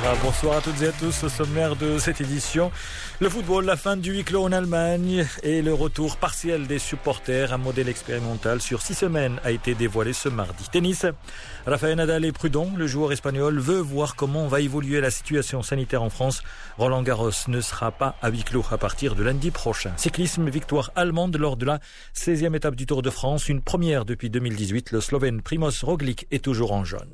Bonsoir à toutes et à tous. Au sommaire de cette édition, le football, la fin du huis clos en Allemagne et le retour partiel des supporters. Un modèle expérimental sur 6 semaines a été dévoilé ce mardi. Tennis, Rafael Nadal est prudent. Le joueur espagnol veut voir comment va évoluer la situation sanitaire en France. Roland Garros ne sera pas à huis clos à partir de lundi prochain. Cyclisme, victoire allemande lors de la 16e étape du Tour de France. Une première depuis 2018. Le Slovène Primož Roglič est toujours en jaune.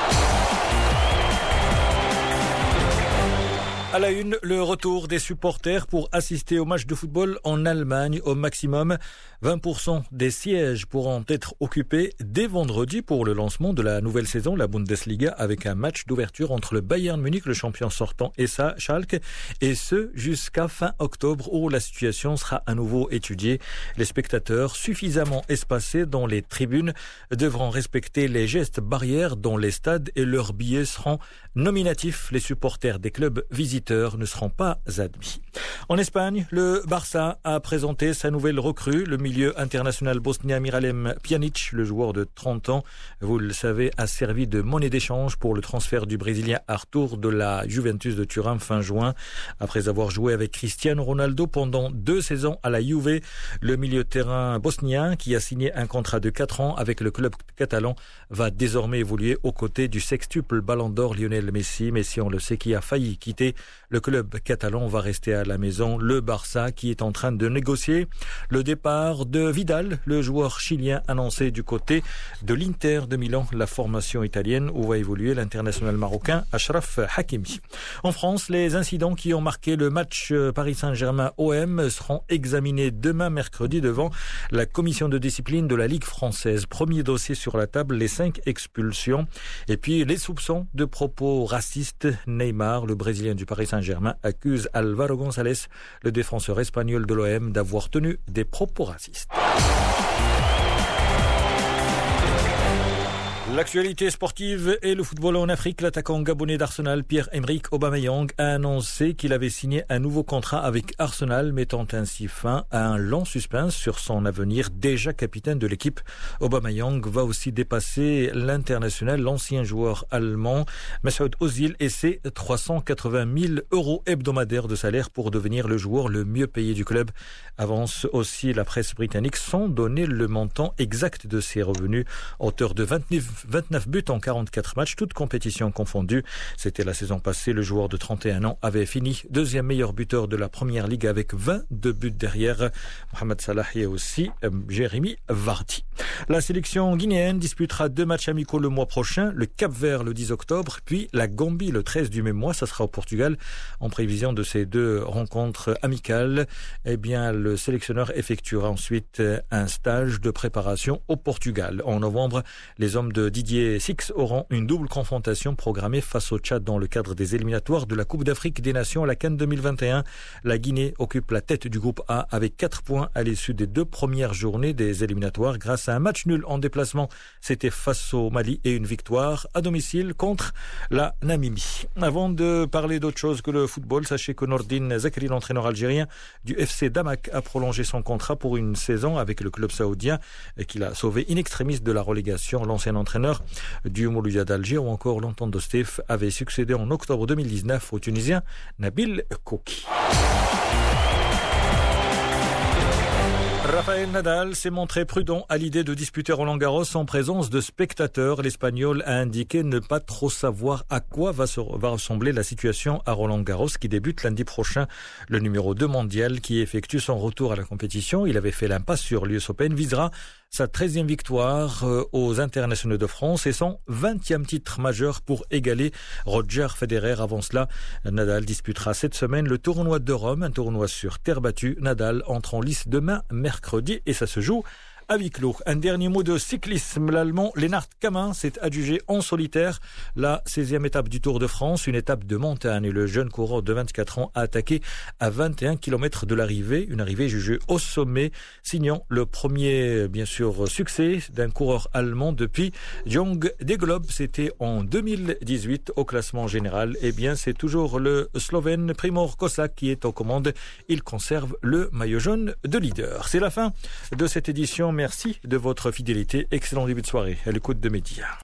À la une, le retour des supporters pour assister au match de football en Allemagne. Au maximum, 20% des sièges pourront être occupés dès vendredi pour le lancement de la nouvelle saison, la Bundesliga, avec un match d'ouverture entre le Bayern Munich, le champion sortant, et sa Schalke, et ce jusqu'à fin octobre où la situation sera à nouveau étudiée. Les spectateurs suffisamment espacés dans les tribunes devront respecter les gestes barrières dans les stades et leurs billets seront nominatifs. Les supporters des clubs visiteurs ne seront pas admis. En Espagne, le Barça a présenté sa nouvelle recrue, le milieu international bosnien Miralem Pjanic, le joueur de 30 ans. Vous le savez, a servi de monnaie d'échange pour le transfert du Brésilien Arthur de la Juventus de Turin fin juin. Après avoir joué avec Cristiano Ronaldo pendant 2 saisons à la Juve, le milieu de terrain bosnien, qui a signé un contrat de 4 ans avec le club catalan, va désormais évoluer aux côtés du sextuple Ballon d'Or Lionel Messi. Messi, on le sait, qui a failli quitter le club catalan, va rester à la maison. Le Barça qui est en train de négocier le départ de Vidal, le joueur chilien annoncé du côté de l'Inter de Milan, la formation italienne où va évoluer l'international marocain Achraf Hakimi. En France, les incidents qui ont marqué le match Paris Saint-Germain-OM seront examinés demain mercredi devant la commission de discipline de la Ligue française. Premier dossier sur la table, les 5 expulsions et puis les soupçons de propos racistes. Neymar, le Brésilien du Paris Saint-Germain, accuse Álvaro González, le défenseur espagnol de l'OM, d'avoir tenu des propos racistes. L'actualité sportive et le football en Afrique. L'attaquant gabonais d'Arsenal, Pierre-Emerick Aubameyang, a annoncé qu'il avait signé un nouveau contrat avec Arsenal, mettant ainsi fin à un long suspense sur son avenir. Déjà capitaine de l'équipe, Aubameyang va aussi dépasser l'international, l'ancien joueur allemand Mesut Özil, et ses 380 000 € hebdomadaires de salaire pour devenir le joueur le mieux payé du club. Avance aussi la presse britannique sans donner le montant exact de ses revenus. Auteur de 29 buts en 44 matchs, toutes compétitions confondues. C'était la saison passée. Le joueur de 31 ans avait fini 2e meilleur buteur de la Première Ligue avec 22 buts derrière Mohamed Salah et aussi Jérémy Vardy. La sélection guinéenne disputera 2 matchs amicaux le mois prochain. Le Cap-Vert le 10 octobre, puis la Gambie le 13 du même mois. Ça sera au Portugal. En prévision de ces 2 rencontres amicales, eh bien, le sélectionneur effectuera ensuite un stage de préparation au Portugal. En novembre, les hommes de Didier Six auront une double confrontation programmée face au Tchad dans le cadre des éliminatoires de la Coupe d'Afrique des Nations à la CAN 2021. La Guinée occupe la tête du groupe A avec 4 points à l'issue des 2 premières journées des éliminatoires grâce à un match nul en déplacement. C'était face au Mali et une victoire à domicile contre la Namibie. Avant de parler d'autre chose que le football, sachez que Nordine Zakri, l'entraîneur algérien du FC Damak, a prolongé son contrat pour une saison avec le club saoudien qu'il a sauvé in extremis de la relégation. L'ancien entraîneur du Mouloudia d'Alger ou encore l'Entente Stef avait succédé en octobre 2019 au Tunisien Nabil Kouki. Rafael Nadal s'est montré prudent à l'idée de disputer Roland Garros en présence de spectateurs. L'Espagnol a indiqué ne pas trop savoir à quoi va ressembler la situation à Roland Garros qui débute lundi prochain. Le numéro 2 mondial qui effectue son retour à la compétition, il avait fait l'impasse sur l'US Open, visera sa 13e victoire aux internationaux de France et son 20e titre majeur pour égaler Roger Federer. Avant cela, Nadal disputera cette semaine le tournoi de Rome, un tournoi sur terre battue. Nadal entre en lice demain mercredi et ça se joue à huis clos. Un dernier mot de cyclisme. L'Allemand Lennart Kammin s'est adjugé en solitaire la 16e étape du Tour de France, une étape de montagne. Et le jeune coureur de 24 ans a attaqué à 21 km de l'arrivée, une arrivée jugée au sommet, signant le premier, bien sûr, succès d'un coureur allemand depuis Jong Degelob. C'était en 2018 au classement général. Eh bien, c'est toujours le Slovène Primož Kozák qui est aux commandes. Il conserve le maillot jaune de leader. C'est la fin de cette édition. Merci de votre fidélité. Excellent début de soirée à l'écoute de Média.